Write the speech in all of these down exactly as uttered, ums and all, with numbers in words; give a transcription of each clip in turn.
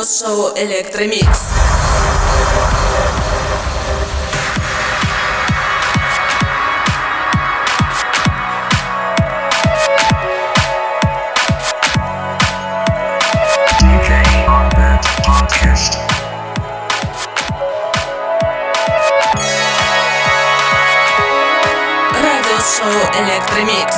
Радиошоу Электромикс. Радиошоу Электромикс.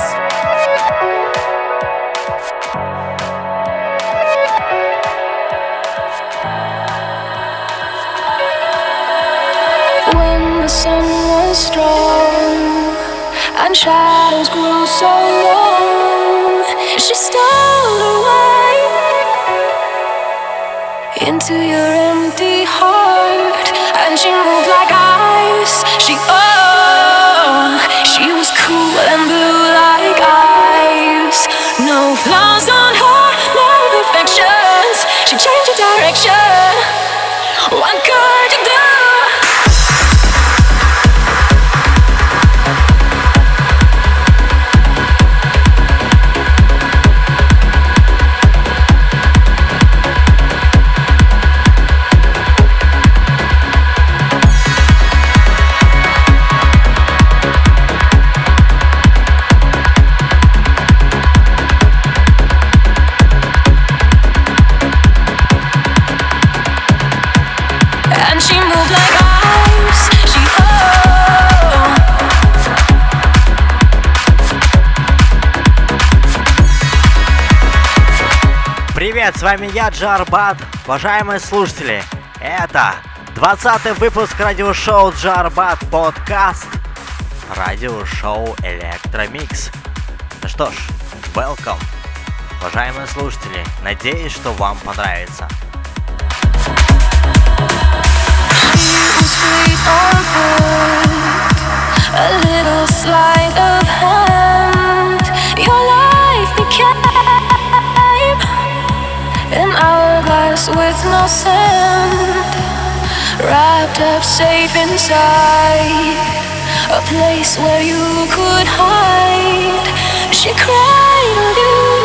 The sun was strong and shadows grew so long. She stole away into your empty heart, and she moved like ice. She oh, she was cool and blue like ice. No flaws on her, no imperfections. She changed her direction. What could you do? Привет, с вами я, Джарбат. Уважаемые слушатели, это двадцатый выпуск радиошоу Джарбат подкаст, радиошоу Электромикс. Ну что ж, welcome, уважаемые слушатели, надеюсь, что вам понравится. An hourglass with no sand, wrapped up safe inside a place where you could hide. She cried of you.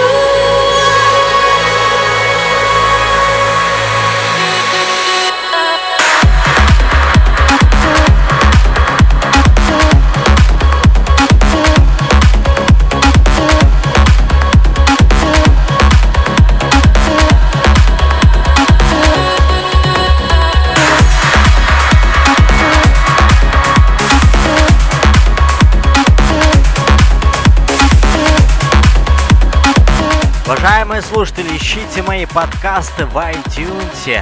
Уважаемые слушатели, ищите мои подкасты в iTunes.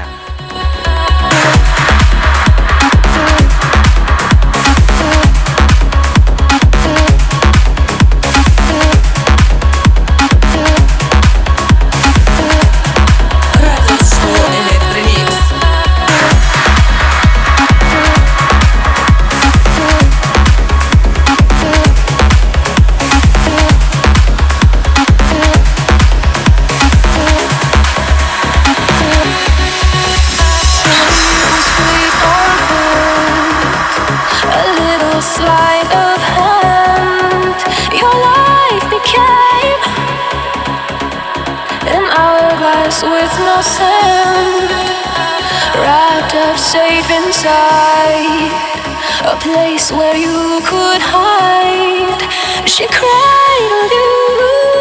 With no sand, wrapped up safe inside a place where you could hide. She cried of you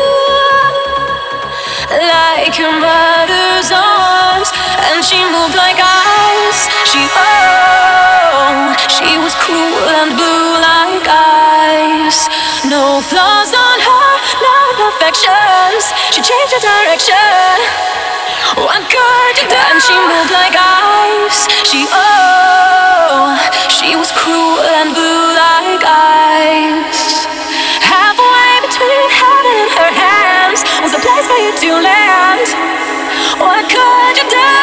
like your mother's arms, and she moved like ice. She oh, she was cool and blue like ice. No flaws on her, no imperfections. She changed her direction. What could you do? And she moved like ice. She oh, she was cruel and blue like ice. Halfway between heaven and her hands was a place for you to land. What could you do?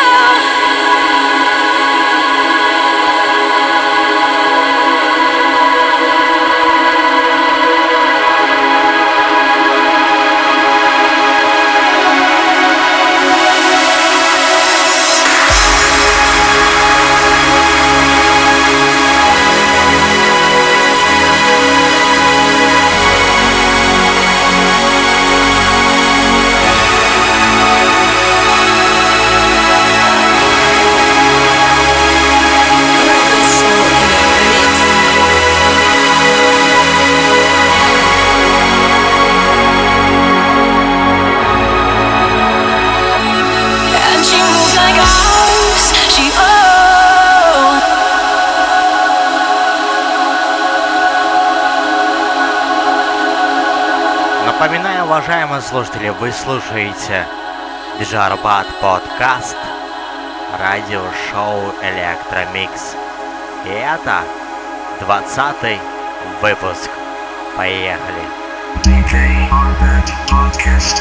Напоминаю, уважаемые слушатели, вы слушаете диджей Арбат подкаст, радиошоу Электромикс. И это двадцатый выпуск. Поехали! диджей Арбат подкаст.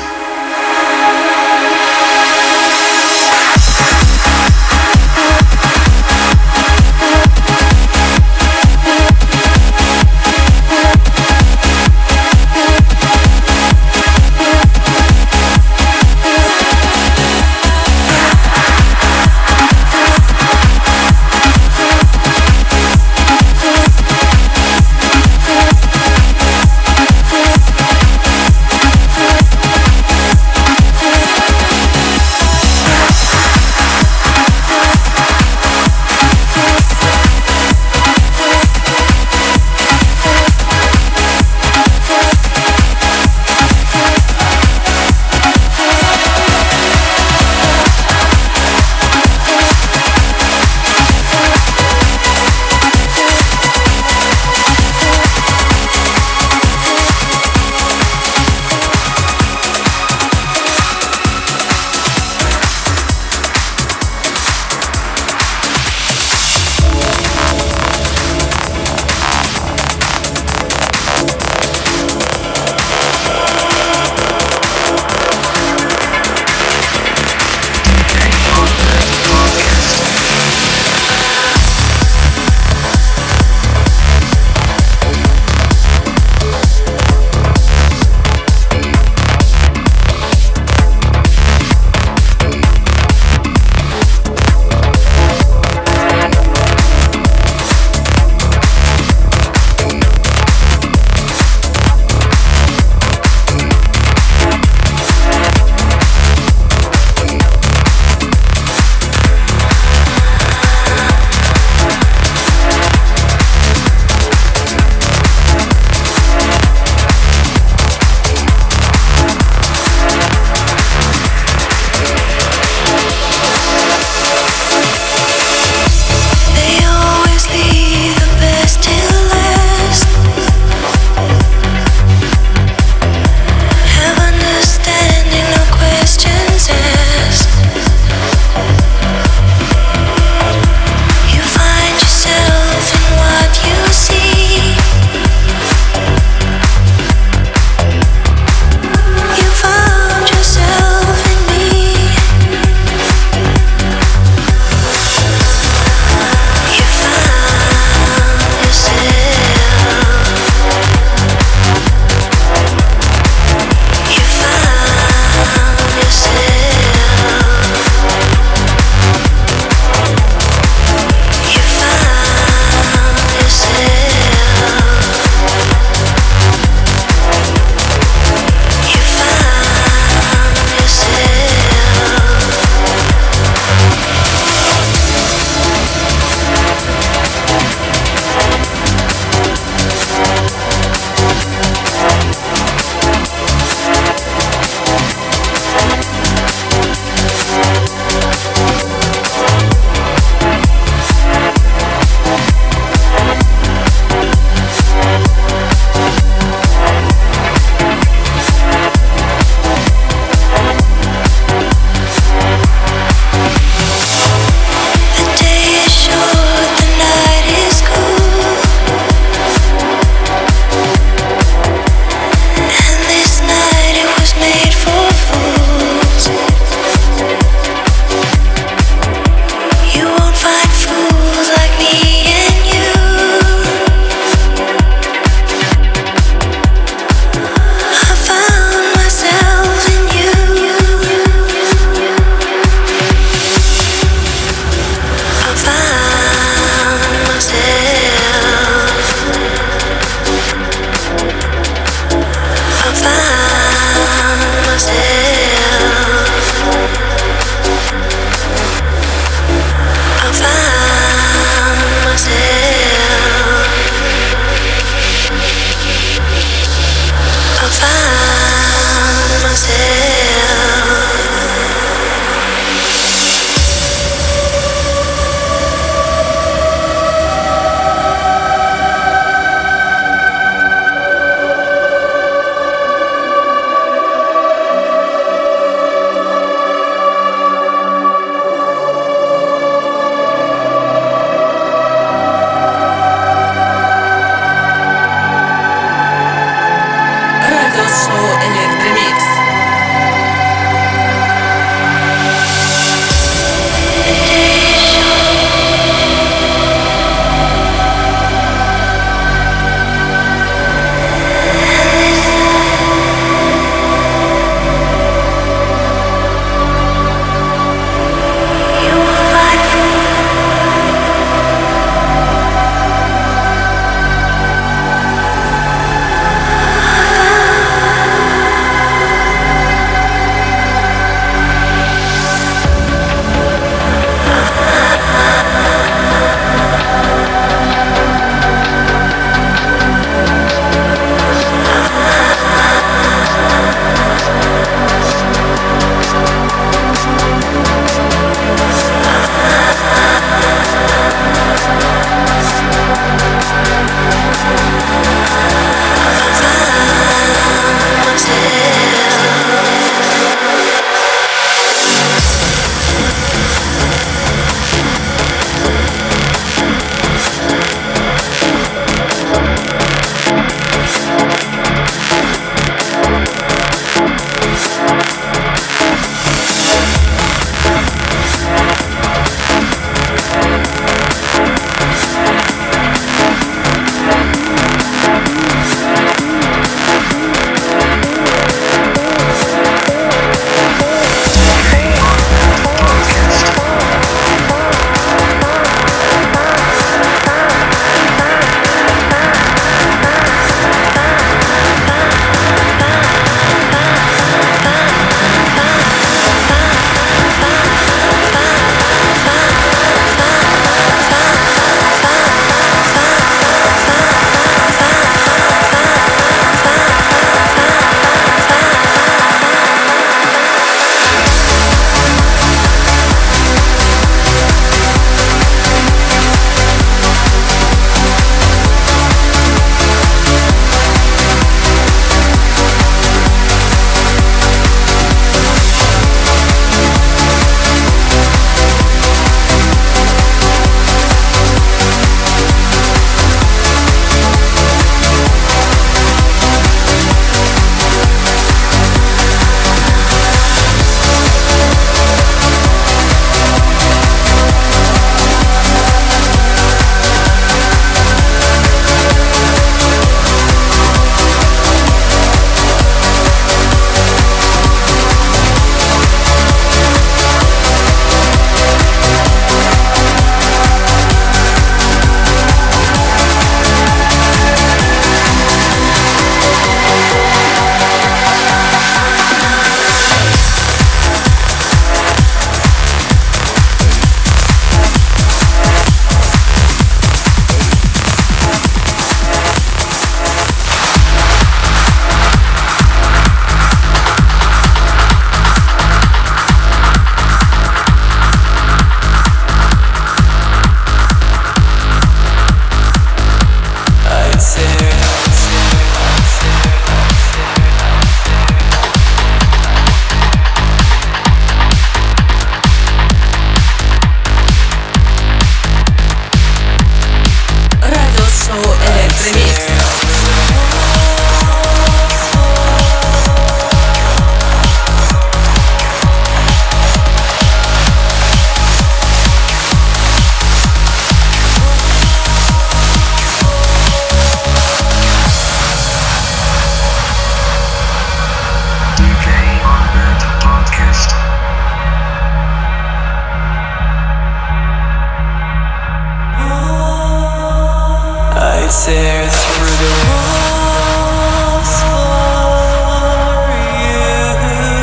tear through the walls for you.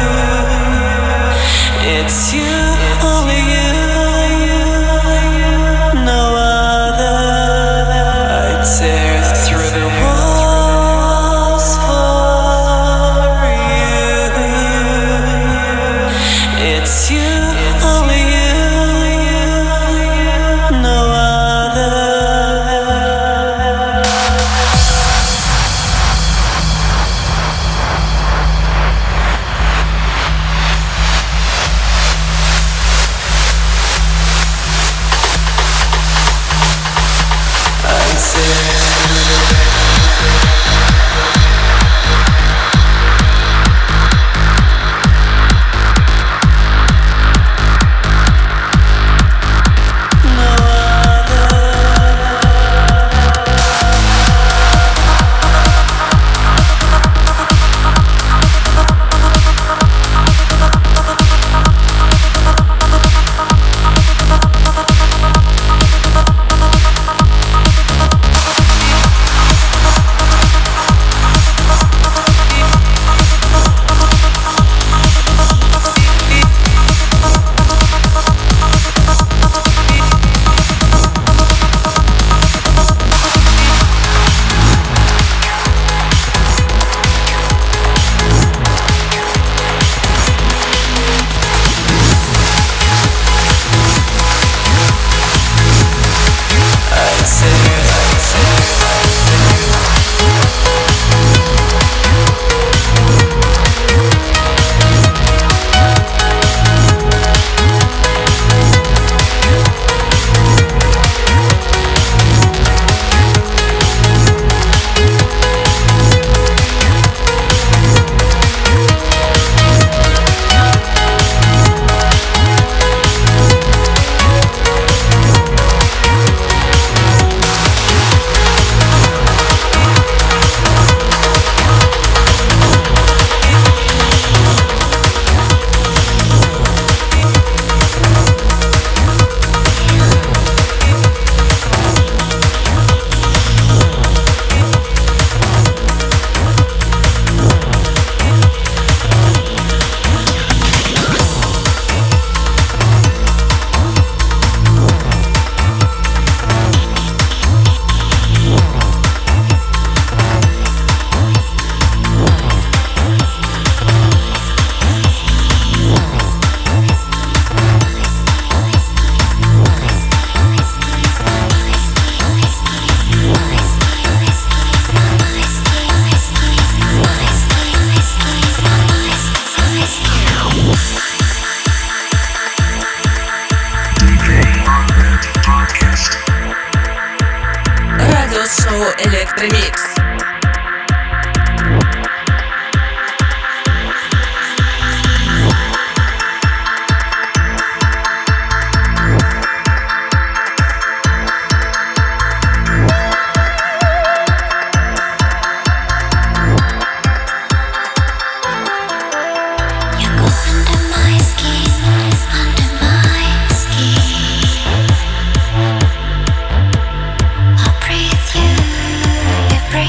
It's you, only you, no other. I tear through the walls for you. It's you, only you, no other. Радиошоу Электромикс. Breathe you, you breathe.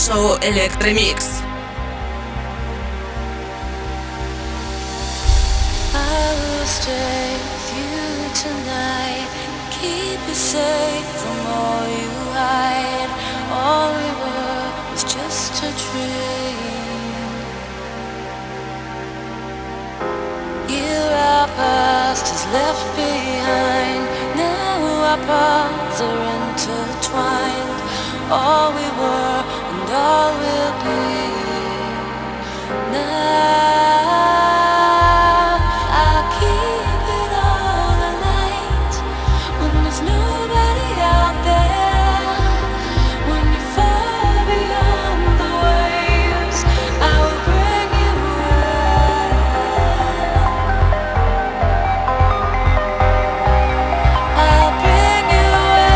Радиошоу Электромикс. I will stay with you tonight, keep you safe from all you hide. All we were was just a dream. Here our past is left behind. Now our paths are intertwined. All we were and all we'll be. Now I'll keep it all alight when there's nobody out there. When you're far beyond the waves, I will bring you I'll bring you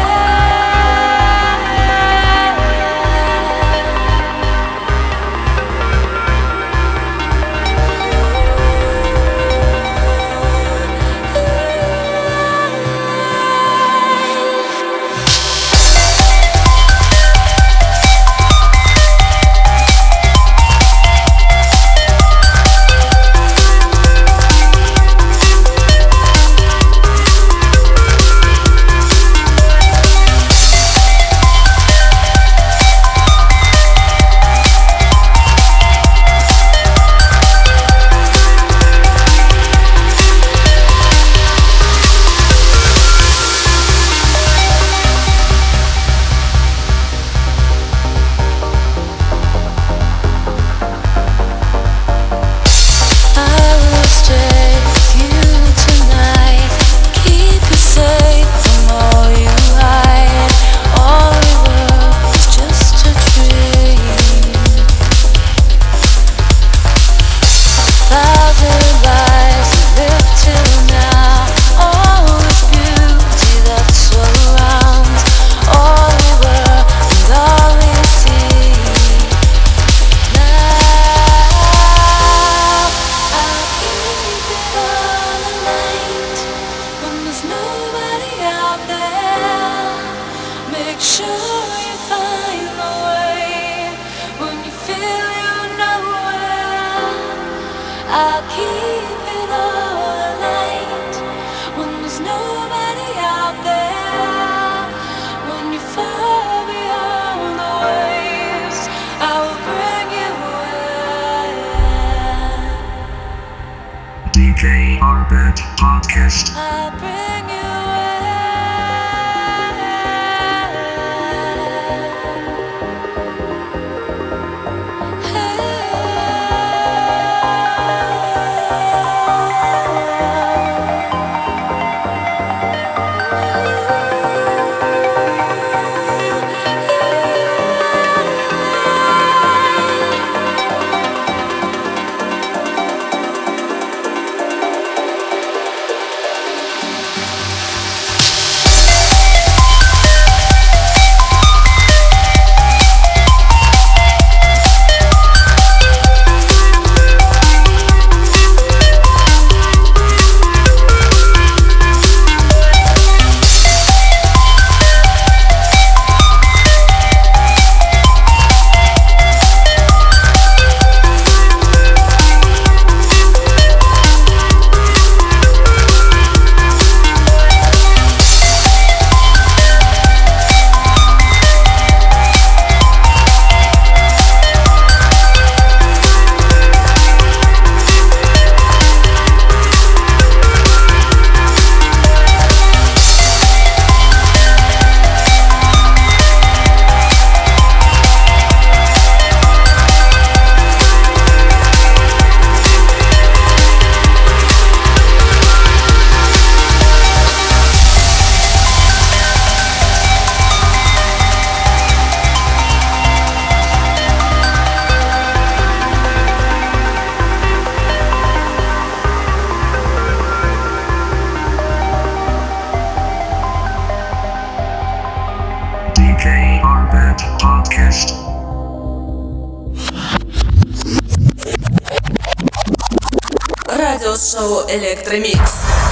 I'll keep it all alight when there's nobody out there. When you're far beyond the waves, I will bring you away. D J Arbet Podcast. I'll bring you D J Arbet Podcast. Радиошоу Электромикс.